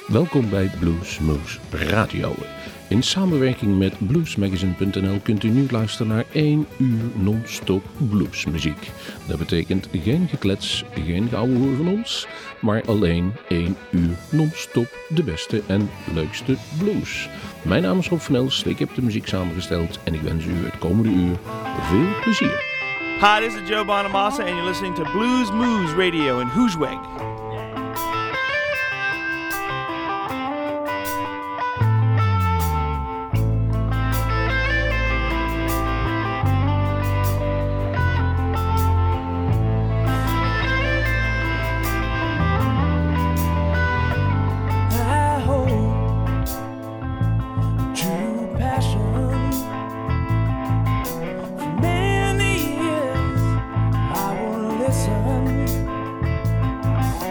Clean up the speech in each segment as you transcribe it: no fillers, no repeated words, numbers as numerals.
Welkom bij Bluesmoose Radio. In samenwerking met bluesmagazine.nl kunt u nu luisteren naar 1 uur non-stop bluesmuziek. Dat betekent geen geklets, geen geouwehoer van ons, maar alleen 1 uur non-stop de beste en leukste blues. Mijn naam is Rob van Els, ik heb de muziek samengesteld en ik wens u het komende uur veel plezier. Hi, this is Joe Bonamassa and you're listening to Bluesmoose Radio in Hoosweg. Listen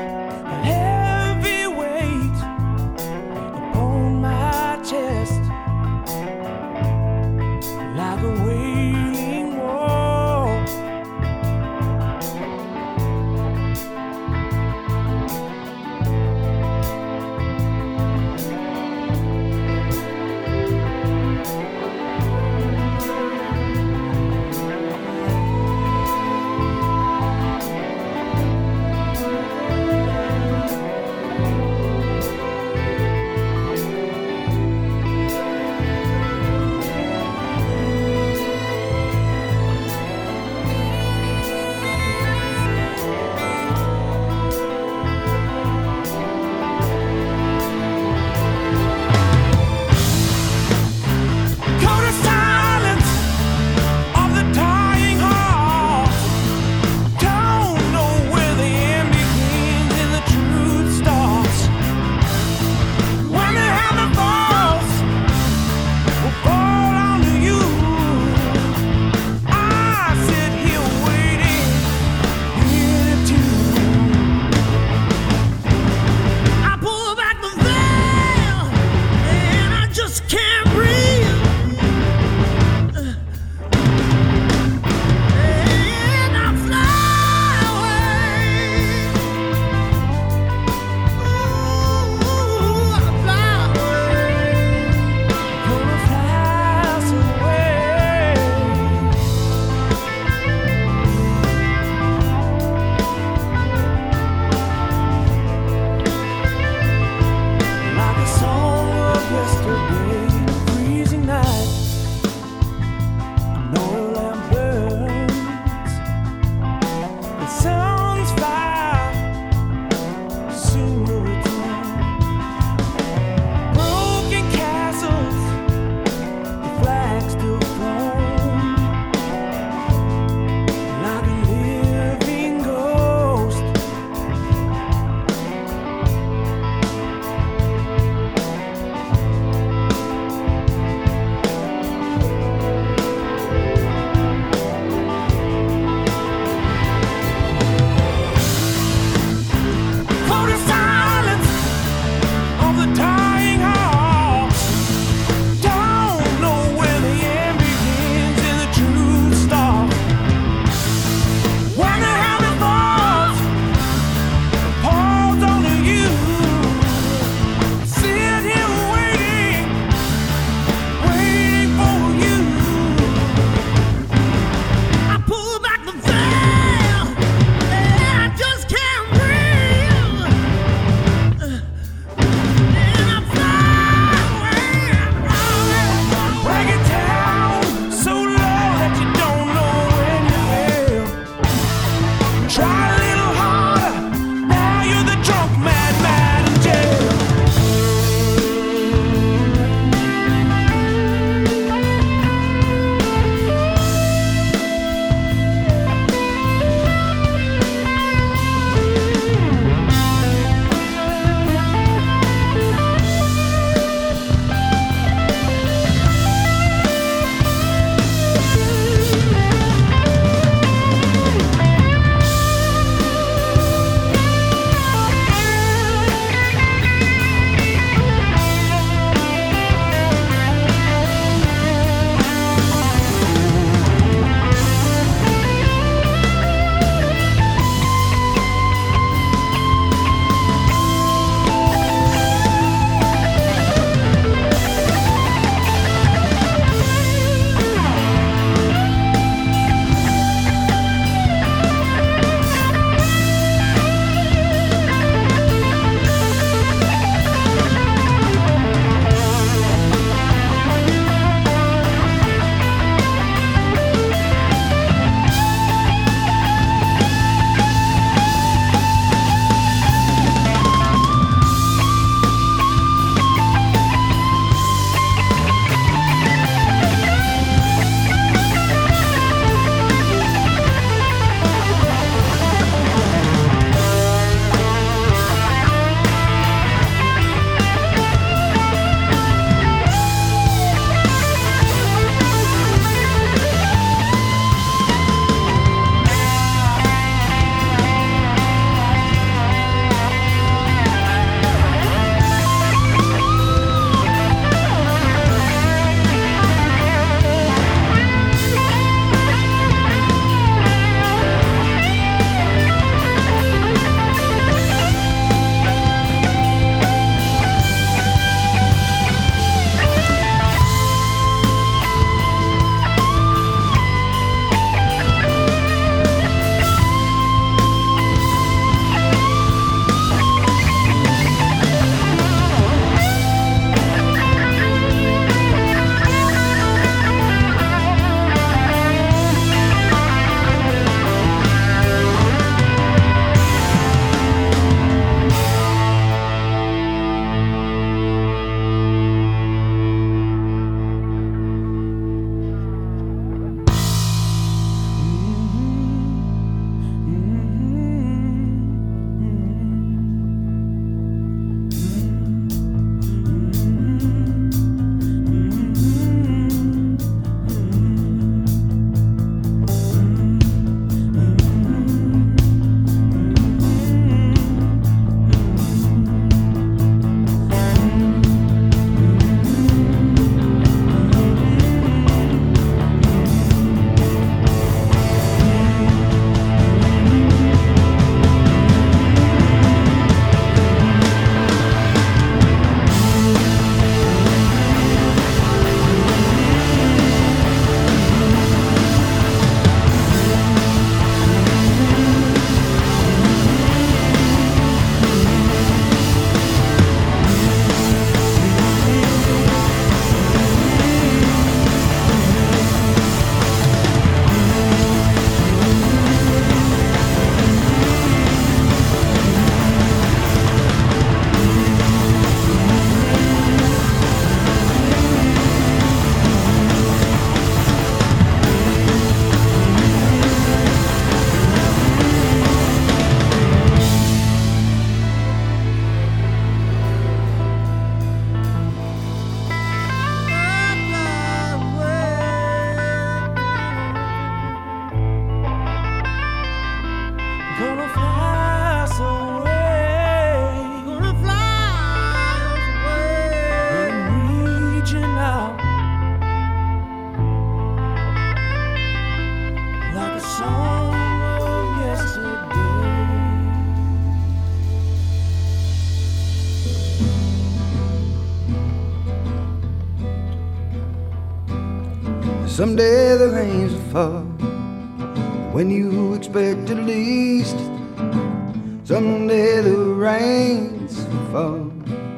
Someday the rains will fall when you expect it least. Someday the rains will fall.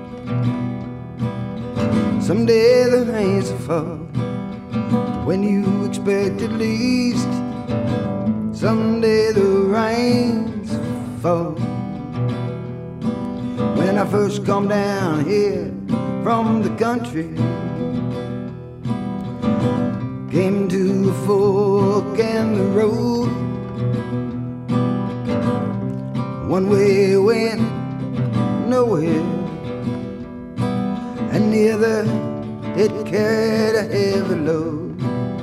Someday the rains will fall when you expect it least. Someday the rains will fall. When I first come down here from the country, came to a fork in the road. One way went nowhere, and the other it carried a heavy load.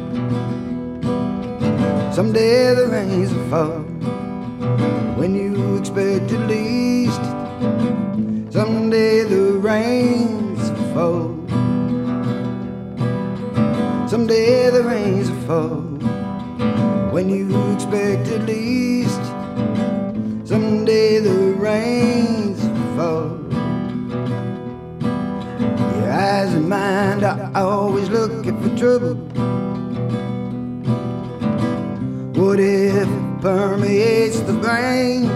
Someday the rains will fall when you expect it least. Someday the rains will fall. Someday the rains will fall when you expect it least. Someday the rains will fall. Your eyes and mind are always looking for trouble. What if it permeates the brain?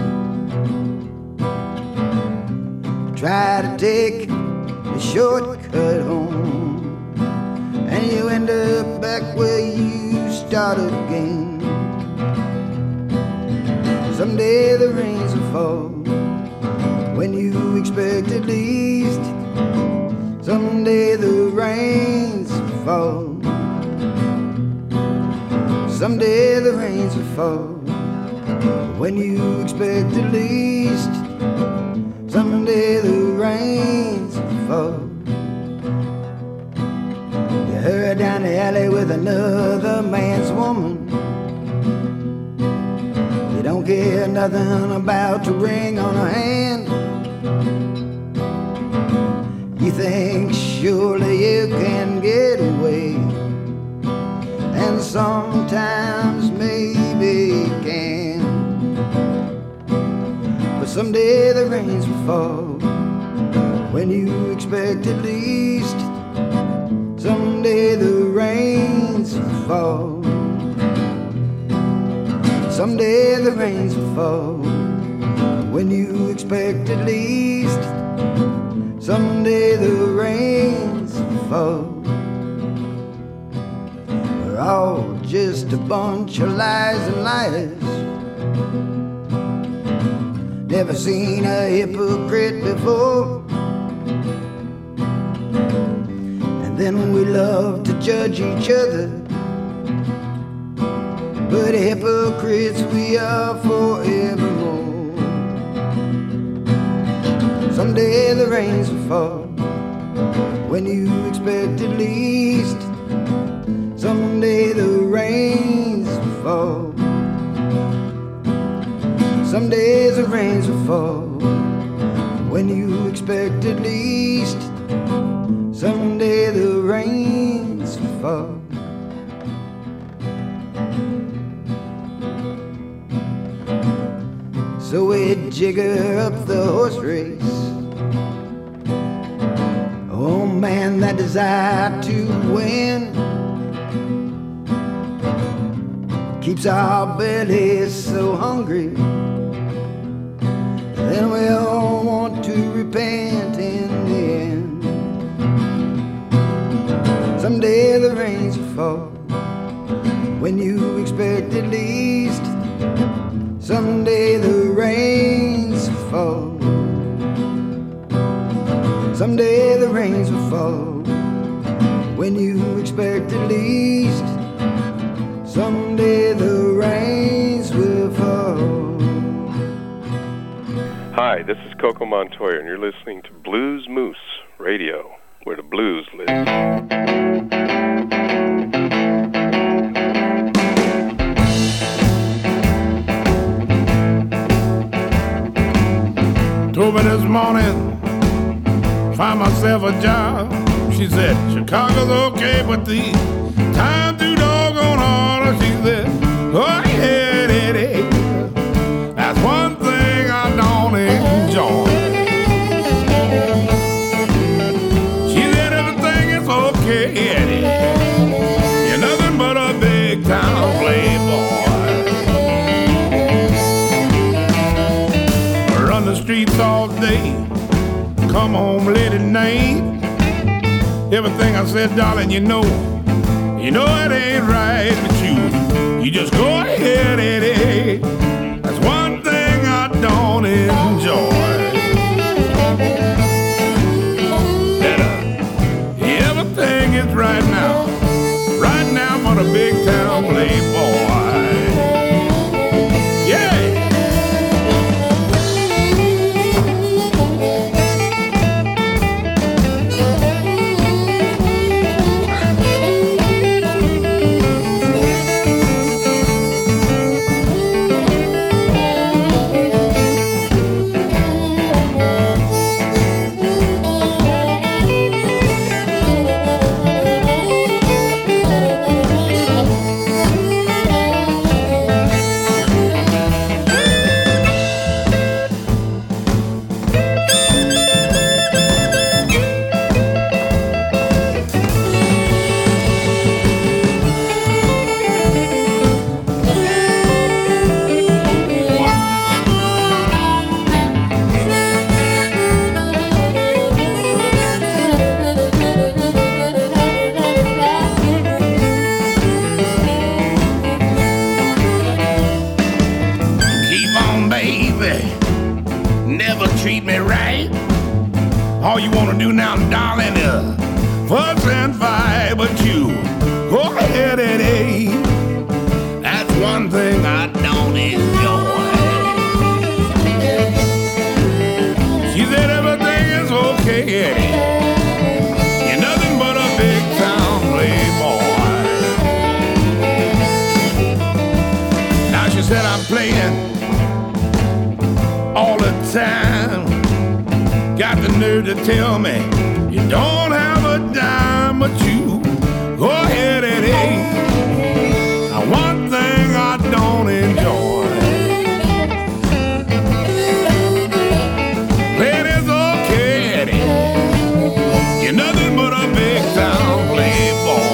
Try to take the shortcut home, and you end up back where you started again. Someday the rains will fall when you expect it least. Someday the rains will fall. Someday the rains will fall when you expect it least. Someday the rains will fall. You hurry down the alley with another man's woman. You don't care nothing about the ring on her hand. You think surely you can get away, and sometimes maybe you can. But someday the rains will fall when you expect it least. Someday the rains will fall. Someday the rains will fall when you expect it least. Someday the rains will fall. We're all just a bunch of lies and liars. Never seen a hypocrite before. And then we love to judge each other, but hypocrites we are forevermore. Someday the rains will fall when you expect it least. Someday the rains will fall. Someday the rains will fall when you expect it least. Someday the rains will fall. So we jigger up the horse race. Oh man, that desire to win keeps our bellies so hungry. Then we all want to repent in the end. Someday the rains will fall when you expect it least. Someday the rains will fall. Someday the rains will fall when you expect it least. Someday the rains will fall. Hi, this is Coco Montoya, and you're listening to Blues Moose Radio, where the blues live. Told me this morning, find myself a job. She said, Chicago's okay, but the time too doggone hard. She said, oh yeah, it is. That's one thing I don't enjoy. She said everything is okay, Eddie. You're nothing but the streets all day, come home late at night. Everything I said, darling, you know it ain't right with you. You just go ahead, Eddie. That's one thing I don't enjoy. Everything is right now for the big town playboy. Treat me right. All you wanna do now, darling, is fuss and fight. But you go ahead, Eddie. That's one thing I don't enjoy. She said everything is okay, Eddie. You're nothing but a big town playboy. Now she said I'm playing all the time. Got the nerve to tell me you don't have a dime, but you go ahead and eat. Now one thing I don't enjoy. It is okay, Eddie. You're nothing but a big town playboy.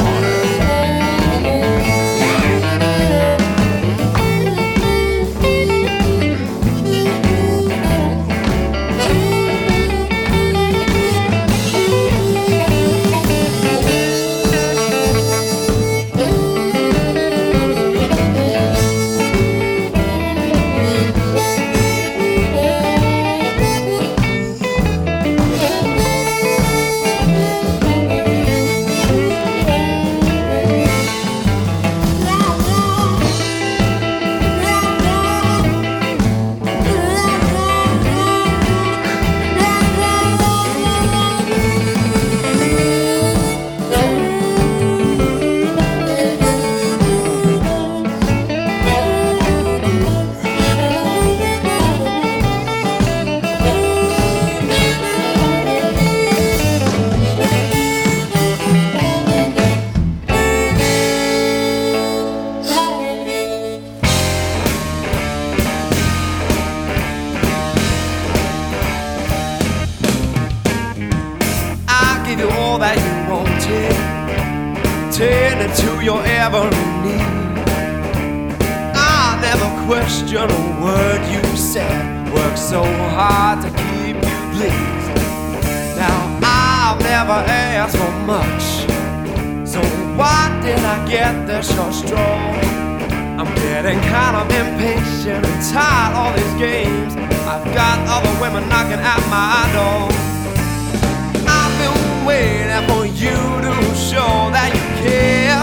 Question a word you said. Worked so hard to keep you pleased. Now I've never asked for much, so why did I get this so strong? I'm getting kind of impatient and tired of all these games. I've got other women knocking at my door. I've been waiting for you to show that you care.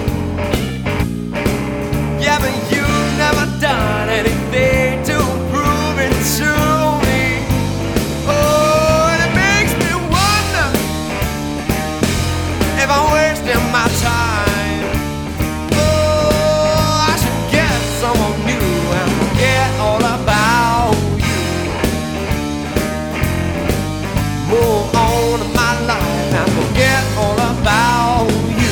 Yeah, but you've never done anything to prove it to me. Oh, and it makes me wonder if I'm wasting my time. Oh, I should get someone new and forget all about you. Move on to my life and forget all about you.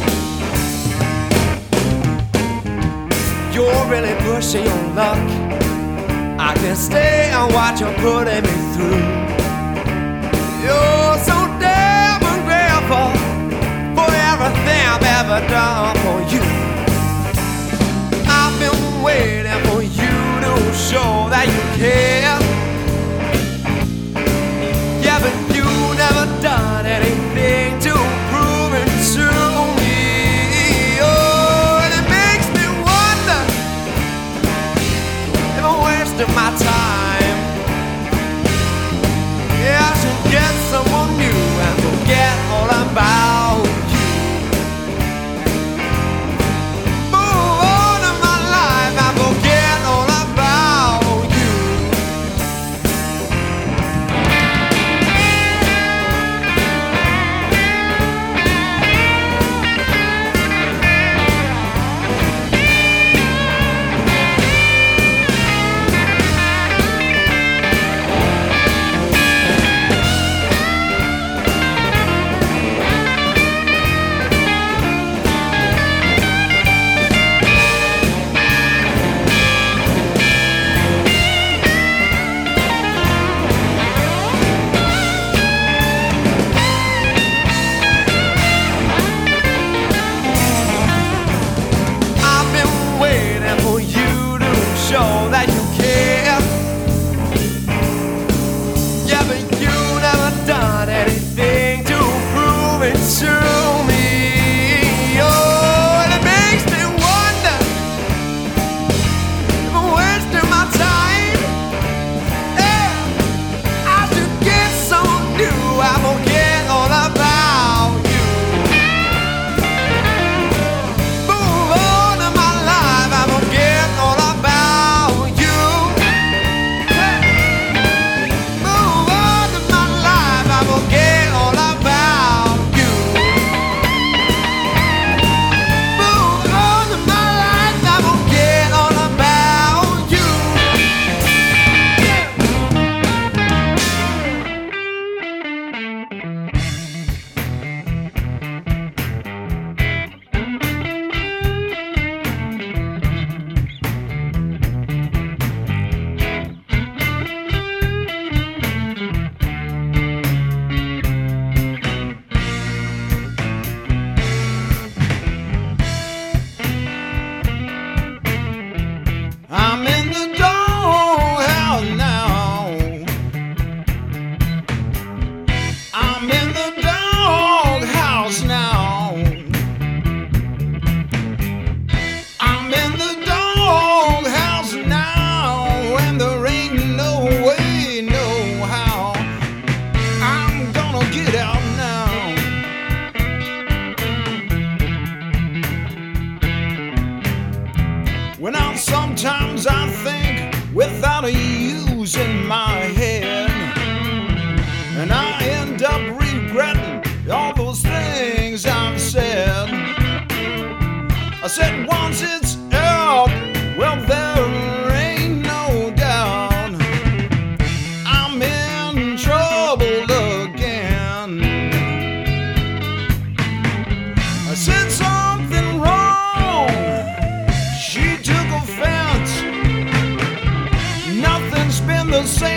You're really pushing your luck. I can stay and watch you putting me through. You're so damn ungrateful for everything I've ever done for you. I've been waiting for you to show that you care.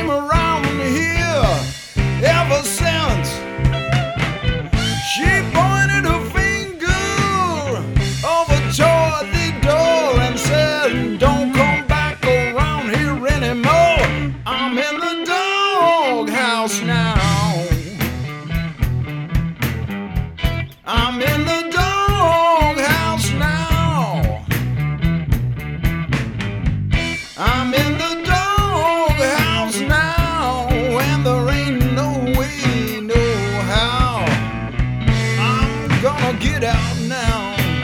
came around here ever since. She pointed her finger over toward the door and said, don't come back around here anymore. I'm in the doghouse now. I'm in the doghouse now. I'm in the doghouse now, and there ain't no way, no how I'm gonna get out now.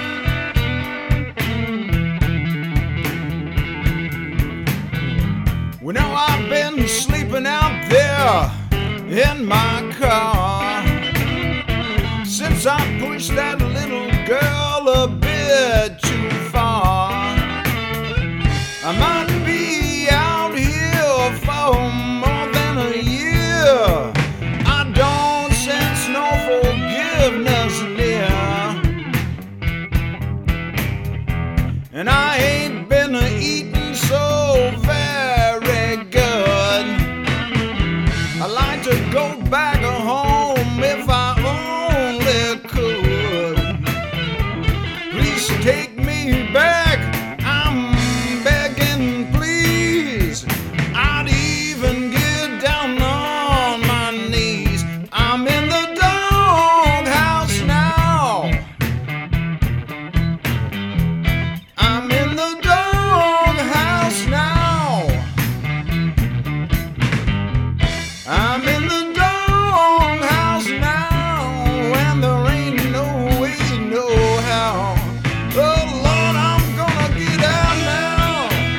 Well, now I've been sleeping out there in my car since I pushed that little girl a bit too far. I might be out here for more than a year. I don't sense no forgiveness near, and I ain't been eating so very good. I like to go back home if I only could. Please take me back, I'm begging, please. I'd even get down on my knees. I'm in the doghouse now. I'm in the doghouse now. I'm in the doghouse now, and there ain't no way, no how. Oh Lord, I'm gonna get out now.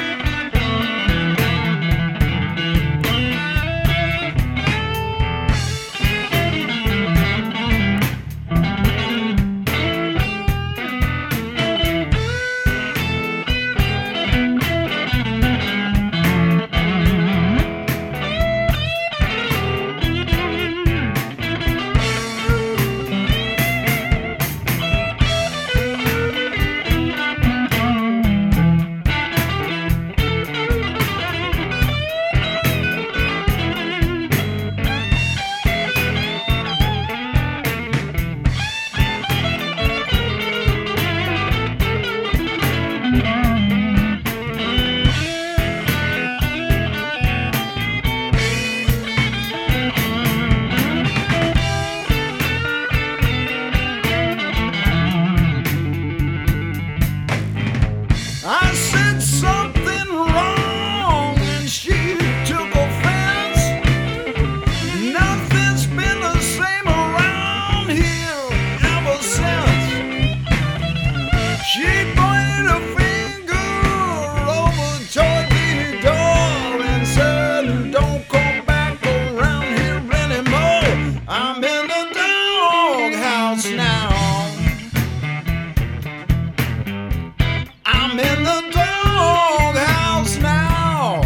I said something wrong and she took offense. Nothing's been the same around here ever since. She pointed a finger over toward the door and said, don't come back around here anymore. I'm in the doghouse now. I'm in the doghouse now.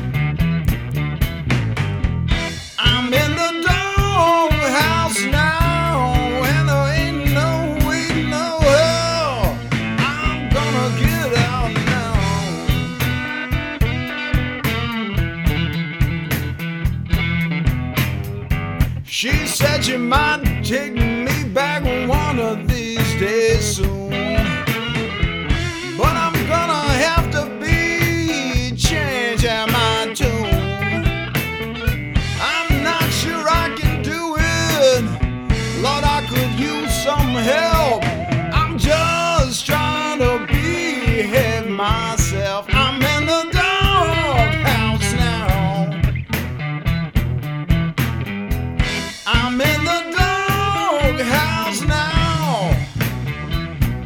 I'm in the doghouse now, and there ain't no way, no hell I'm gonna get out now. She said she might take me back one of these days soon, but I'm gonna have to be changing my tune. I'm not sure I can do it. Lord, I could use some help. I'm just trying to behave myself. I'm in the doghouse now. I'm in the doghouse now.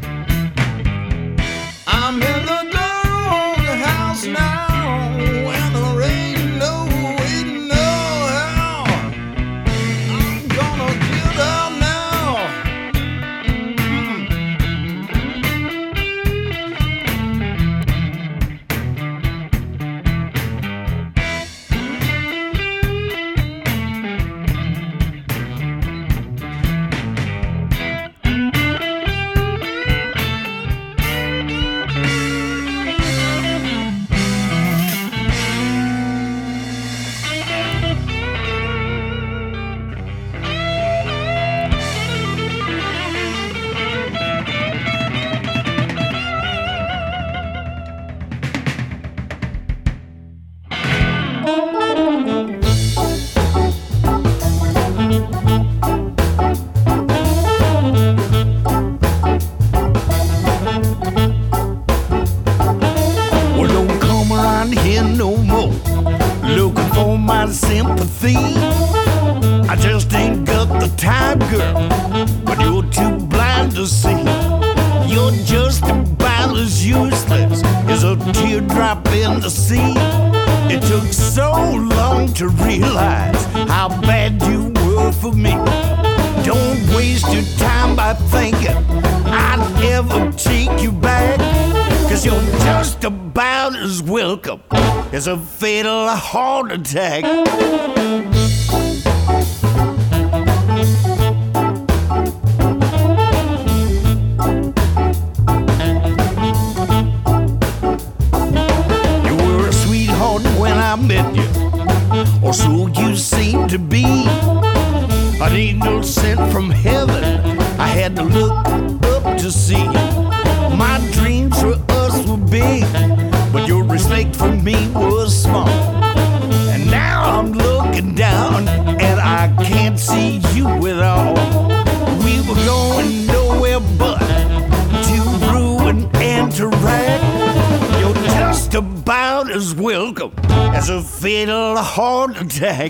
theme. I just ain't got the time, girl, but you're too blind to see. You're just about as useless as a teardrop in the sea. It took so long to realize how bad you were for me. Don't waste your time by thinking I'd ever take you back, 'cause you're just about as welcome as a fatal heart attack. You were a sweetheart when I met you, or so you seemed to be. An angel sent from heaven, I had to look up to see. My dreams for us were big, but your respect for me was small. And now I'm looking down and I can't see you at all. We were going nowhere but to ruin and to wreck. You're just about as welcome as a fatal heart attack.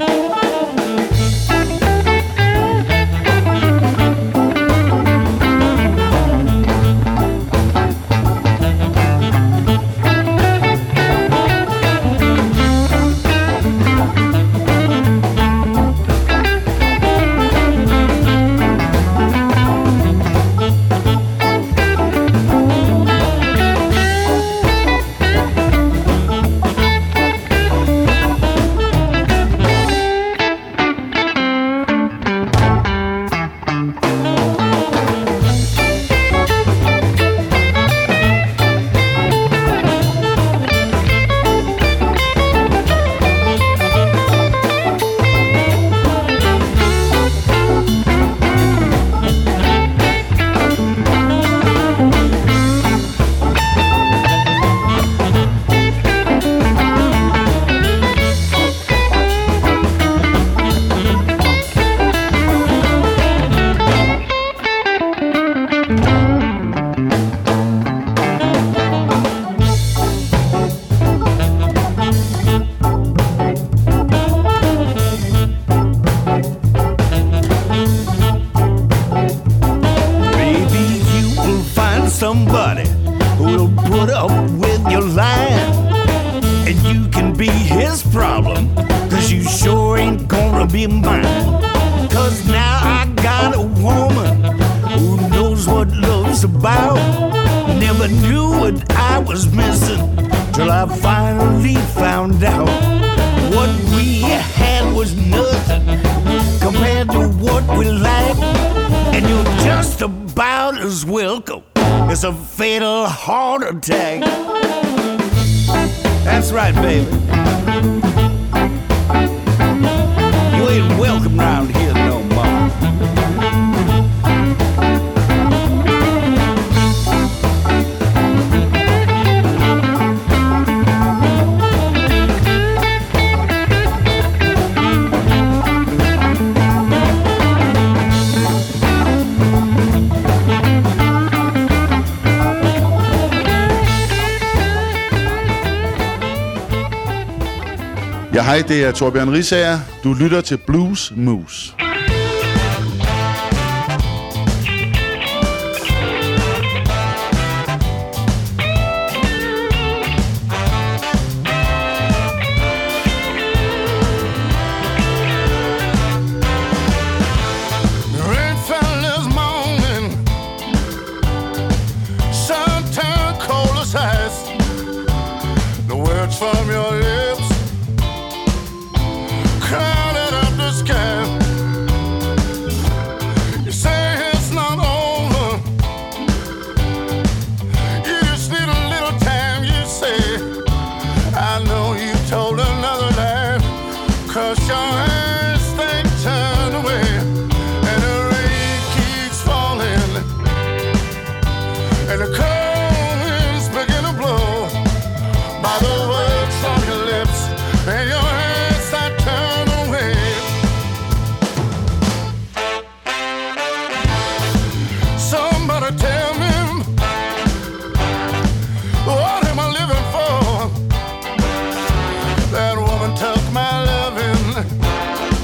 Somebody who'll put up with your lying, and you can be his problem, 'cause you sure ain't gonna be mine. 'Cause now I got a woman who knows what love's about. Never knew what I was missing till I finally found out. What we had was nothing compared to what we lacked, and you're just about as welcome as a fatal heart attack. That's right, baby. You ain't welcome round here no more. Ja, hej, det er Torbjørn Risager. Du lytter til Blues Moose. From your lips, crowded up the sky. You say it's not over. You just need a little time, you say. I know you told another lie, 'cause your eyes they turn away, and the rain keeps falling, and the cold winds begin to blow. By the words on your lips and your hands that turn away. Somebody tell me, what am I living for? That woman took my loving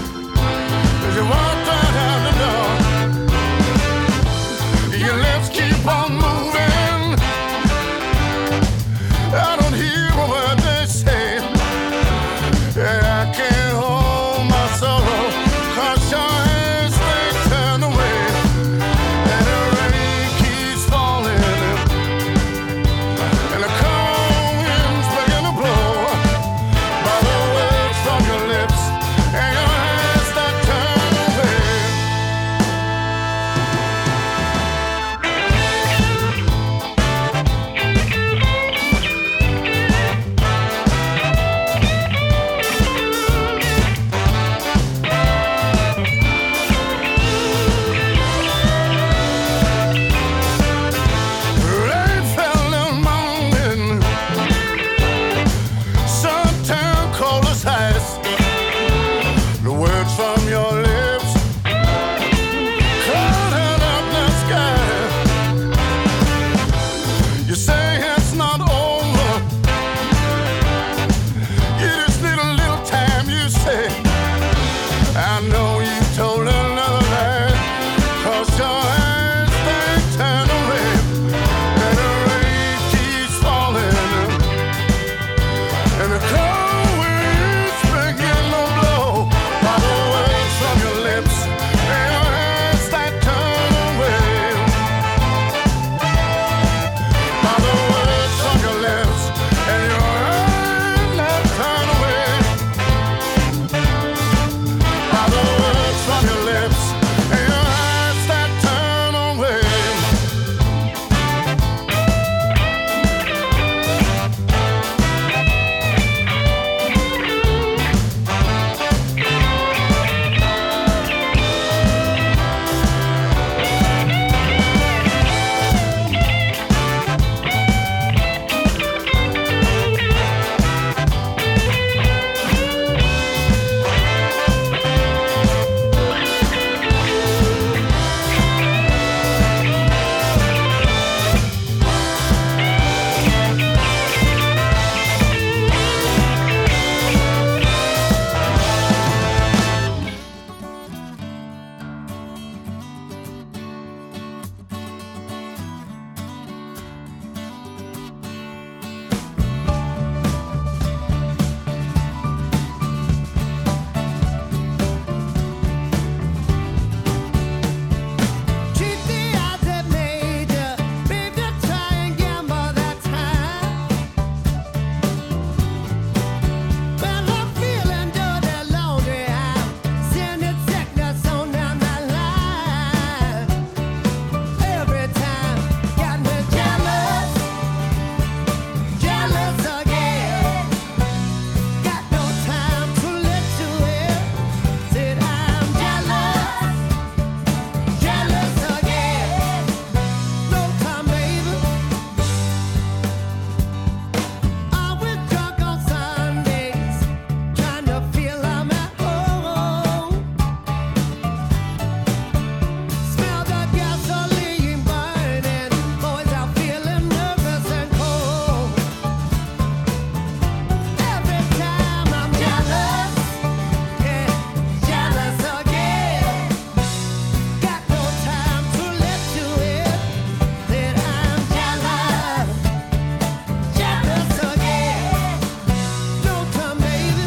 I know you told another man, 'cause your eyes they turn away, and the rain keeps falling, and the cold winds begin to blow. By the words from your lips and your hands that turn away, by the words from your lips and your hands that turn away, by the words from your lips and your hands that turn away. Treat the odds that made you, babe, to try and gamble that time. Well, I'm feeling dirty, lonely. I'm sending sickness on down my line. Every time, got me jealous, jealous again. Got no time to let you in. Said I'm jealous, jealous again. No time, baby. I was drunk on Sundays, trying to feel I'm at home. Smell the gasoline burning, boys are feeling nervous and cold. Every time I'm jealous, yeah, jealous again. Got no time to let you in. Said I'm jealous, jealous again. No time, baby.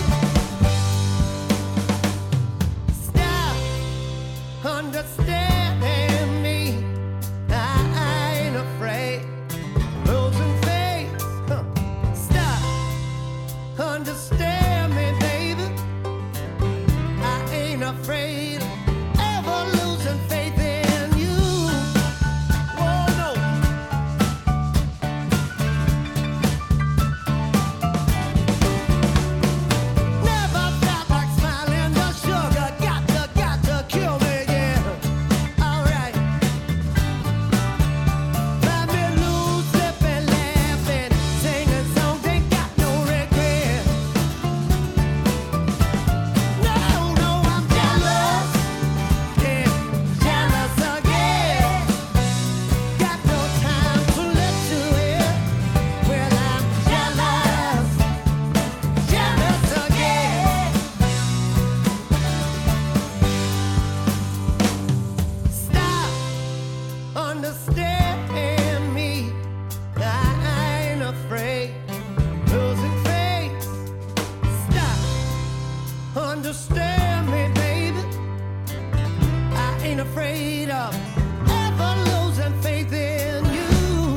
Stop understanding me. I ain't afraid losing faith. Stop understand me, baby. I ain't afraid ever losing faith in you. Oh no. Never felt like smiling. The sugar got to kill me, yeah. Alright. Let me lose, slipping, laughing, singing songs, ain't got no regret. No, I'm jealous, yeah, jealous again. Got no time to let you in. Well, I'm jealous, jealous again. Stop understanding me. I ain't afraid losing faith. Stop understand me, baby. I ain't afraid of ever losing faith in you.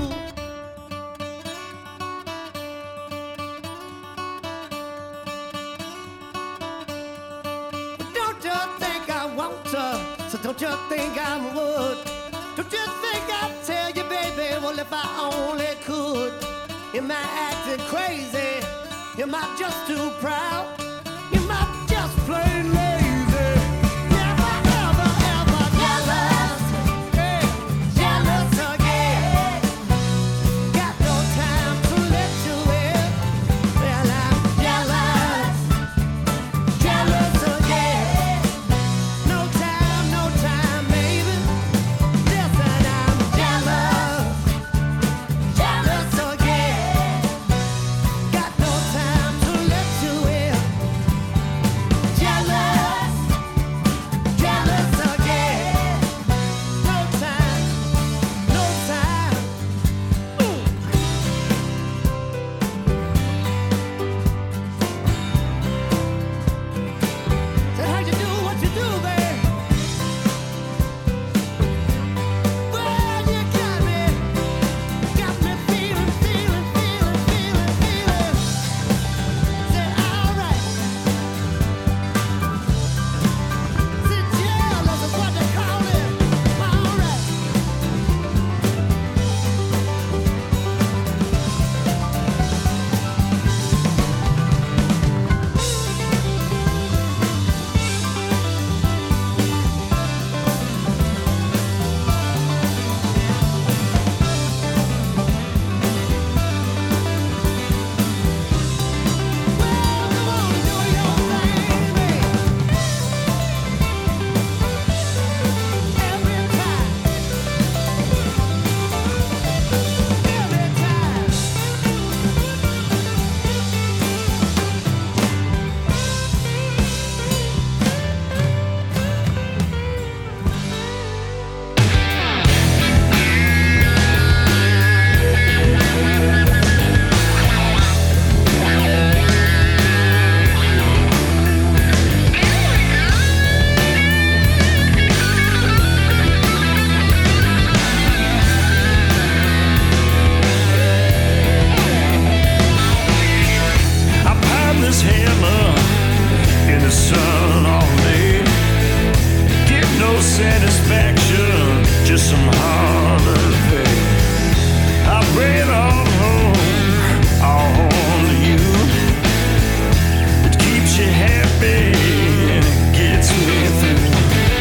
Don't you think I want to? So don't you think I would? Don't you think I'd tell you, baby? Well, if I only could. Am I acting crazy? Am I just too proud? Am I just plain lazy? Never, ever, ever jealous. Yeah, jealous again. Got no time to let you in. Well, I'm jealous, jealous again. No time, baby. Listen, I'm jealous, jealous again. Got no time to let you in. Jealous. satisfaction, just some holiday. I bring it all home, all to you. It keeps you happy and it gets me through.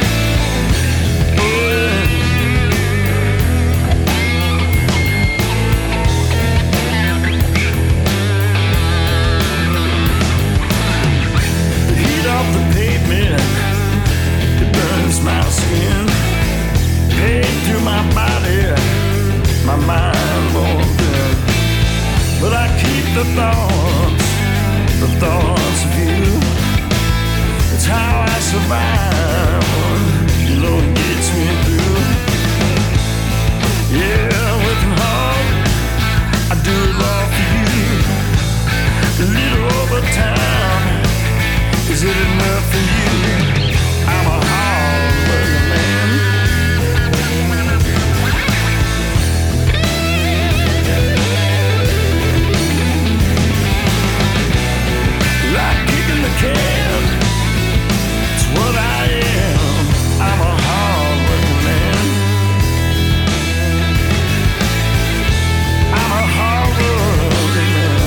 The heat of the pavement, it burns my skin. Pain through my body, my mind won't bend. But I keep the thoughts of you. It's how I survive, you know it gets me through. Yeah, working hard, I do it all for you. A little overtime, is it enough for you? I'm a hard-working man. Like kicking the can, it's what I am. I'm a hard-working man. I'm a hard-working man.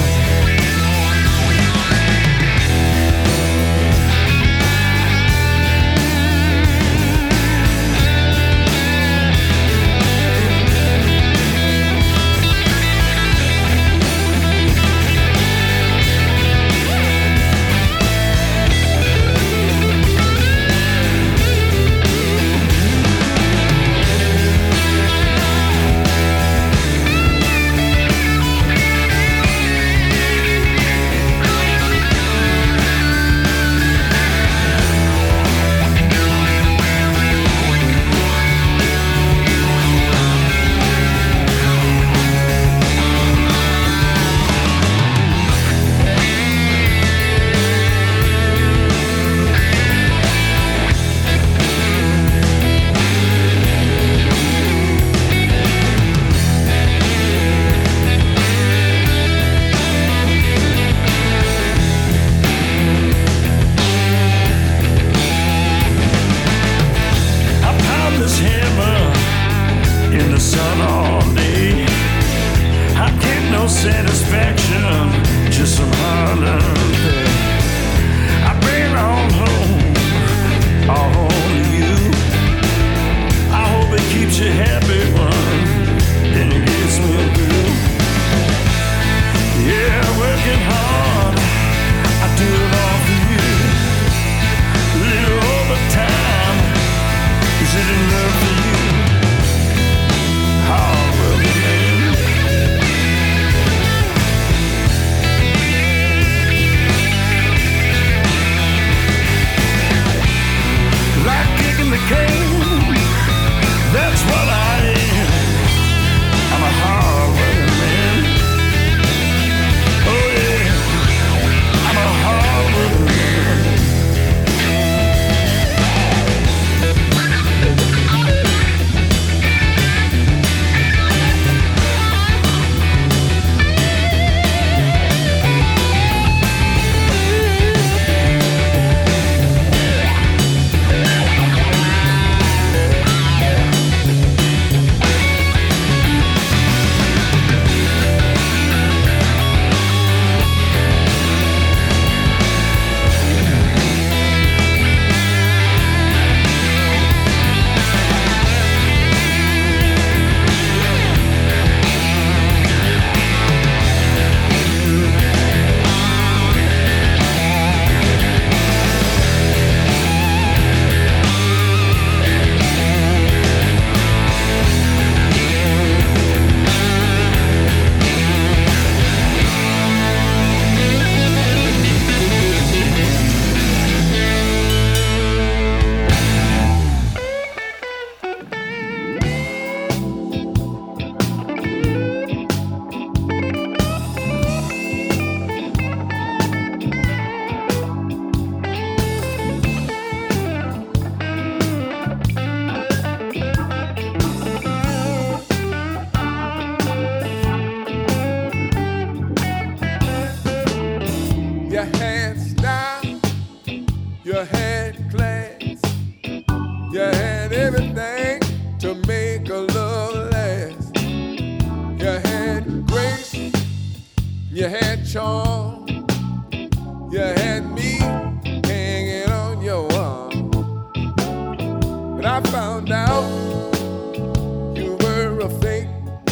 everything to make a love last. You had grace, you had charm, you had me hanging on your arm. But I found out you were a fake.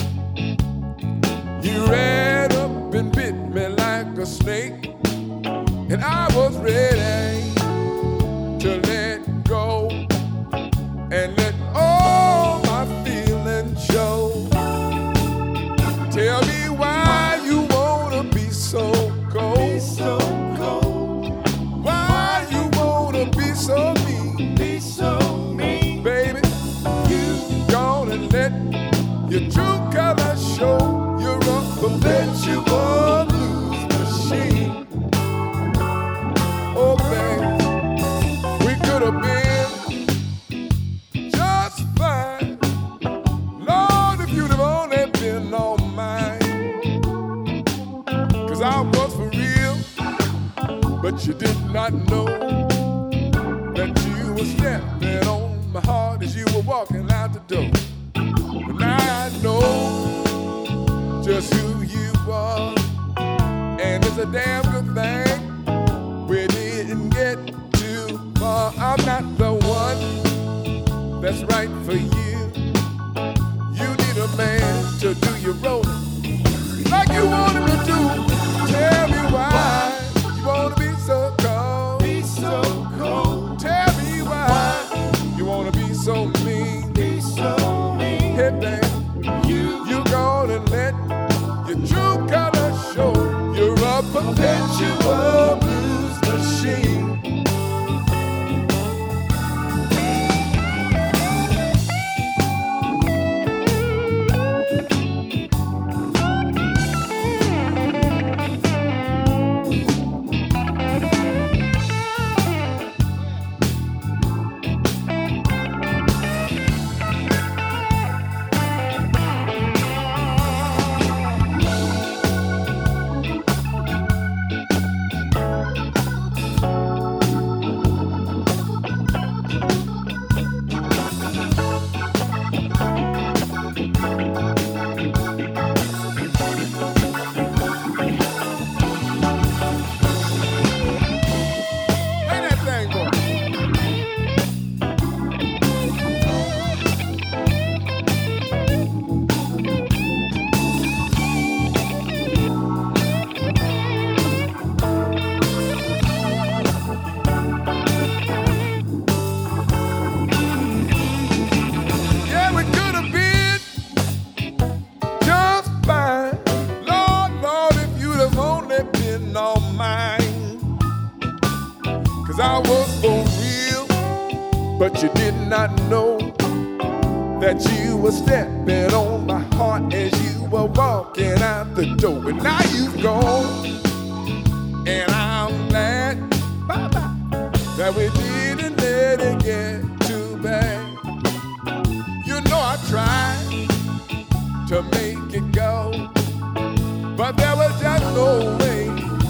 You ran up and bit me like a snake, and I was ready to let go and let all my feelings show. Tell me why you wanna be so cold. Be so cold. Why you wanna be so mean? Be so mean. Baby, you gonna let your true color show. You're a perpetual blues machine. Oh, baby, we could have been just fine. Lord, if you'd have only been all mine. 'Cause I was for real, but you did not know that you were stepping on my heart as you were walking out the door. But now I know just who you are, and it's a damn good thing we didn't get too far. I'm not the one that's right for you. You need a man to do your rolling like you want him to do. Tell me why you wanna be so cold. Be so cold. Tell me why you wanna be so mean. Be so mean. Hey, babe, you gonna let your true color show. You're a perpetual blues machine. You did not know that you were stepping on my heart as you were walking out the door. And now you've gone, and I'm glad that we didn't let it get too bad. You know I tried to make it go, but there was just no way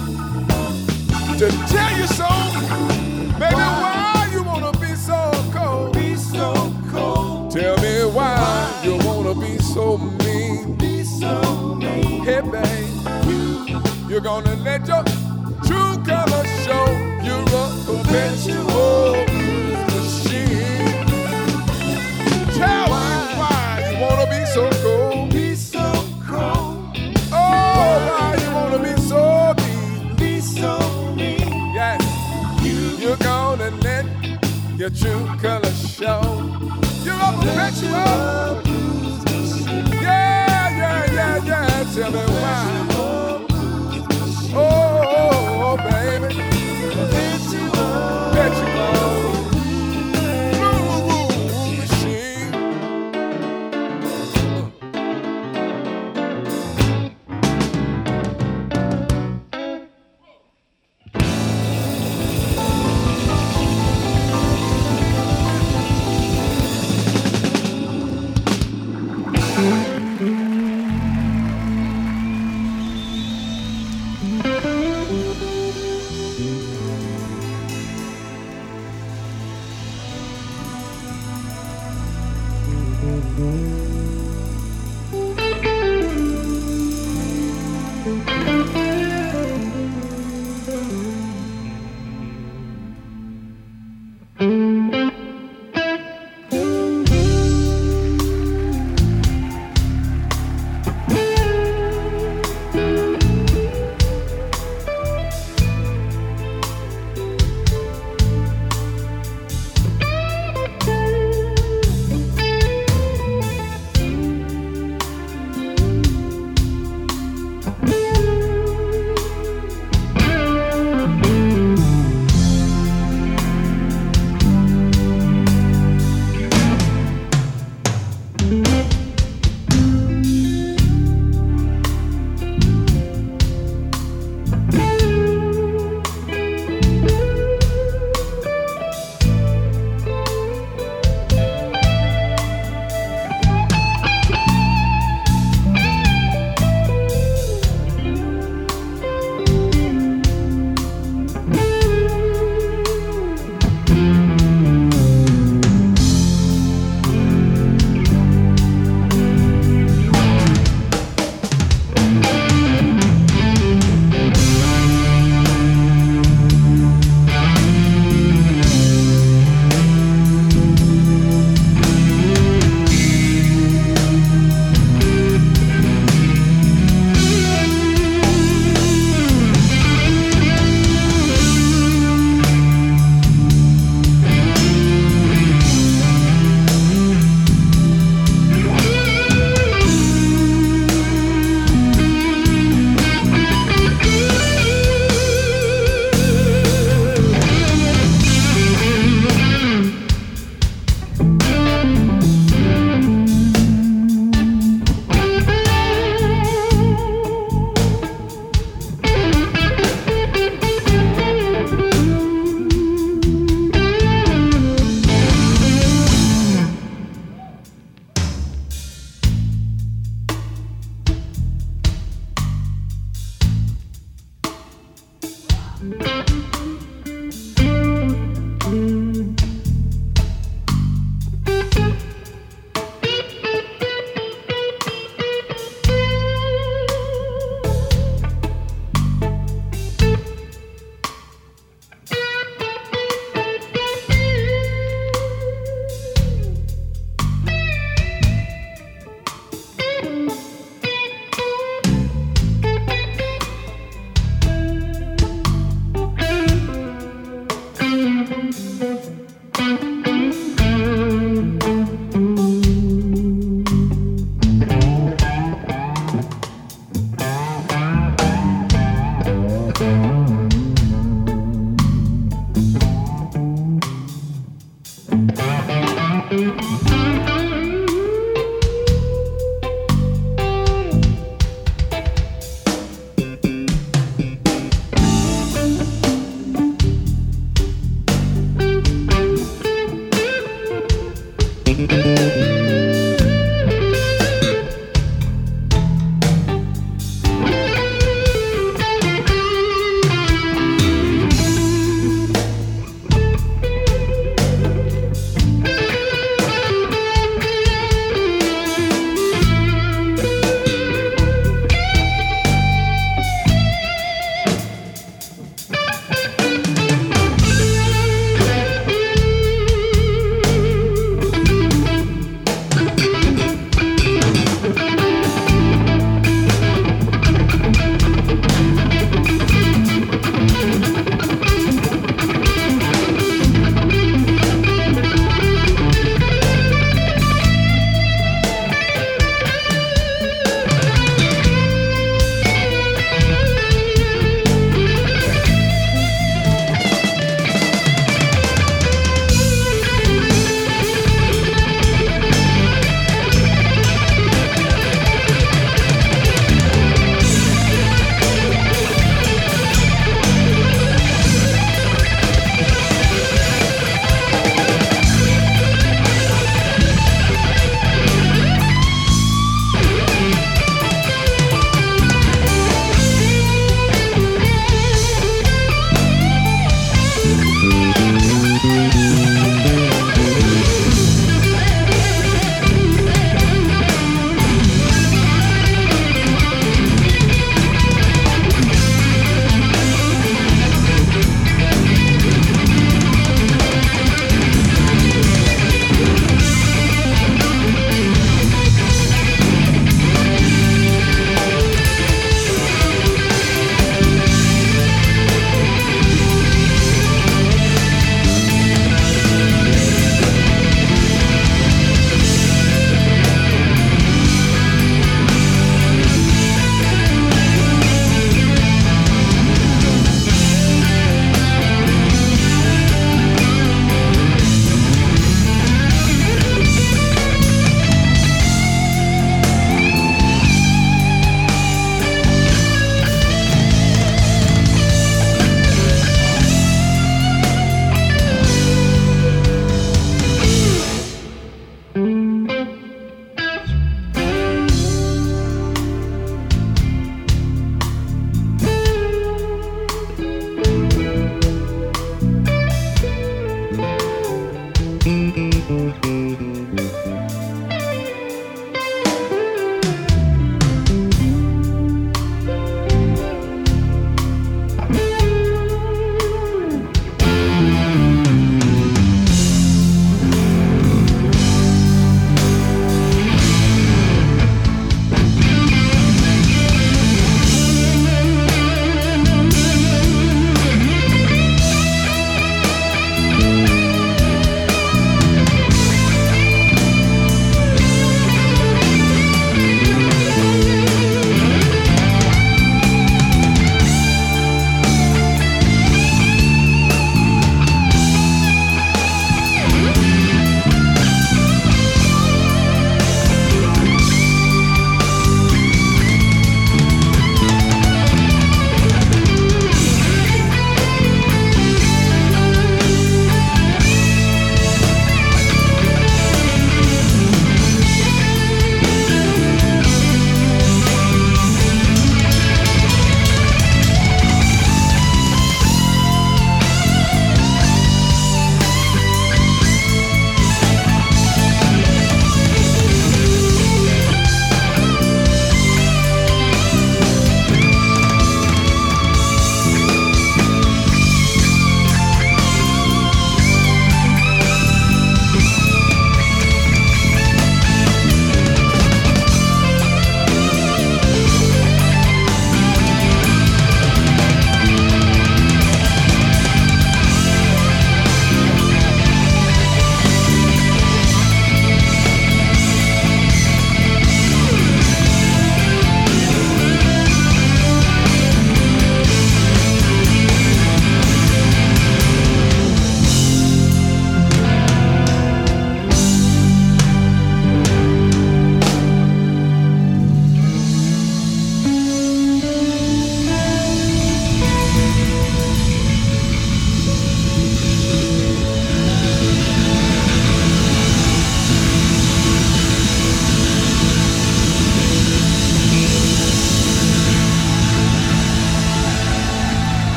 to tell you so. Baby, why you wanna be so cold? Be so cold. Tell me why you wanna be so mean? Be so mean. Hey, babe, you're gonna let your true color show. You're a perpetual blues machine. Tell me why you wanna be so cold. Be so cold. Oh, why you wanna be so mean? Be so mean. Yes, you're gonna let your true color show. You're a perpetual blues machine. Yeah, yeah, yeah, yeah. Tell me why. Oh, baby. Perpetual blues machine.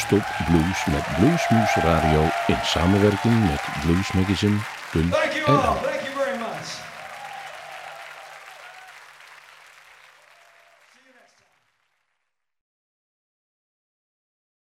non-stop blues met Bluesmoose Radio in samenwerking met bluesmagazine.nl.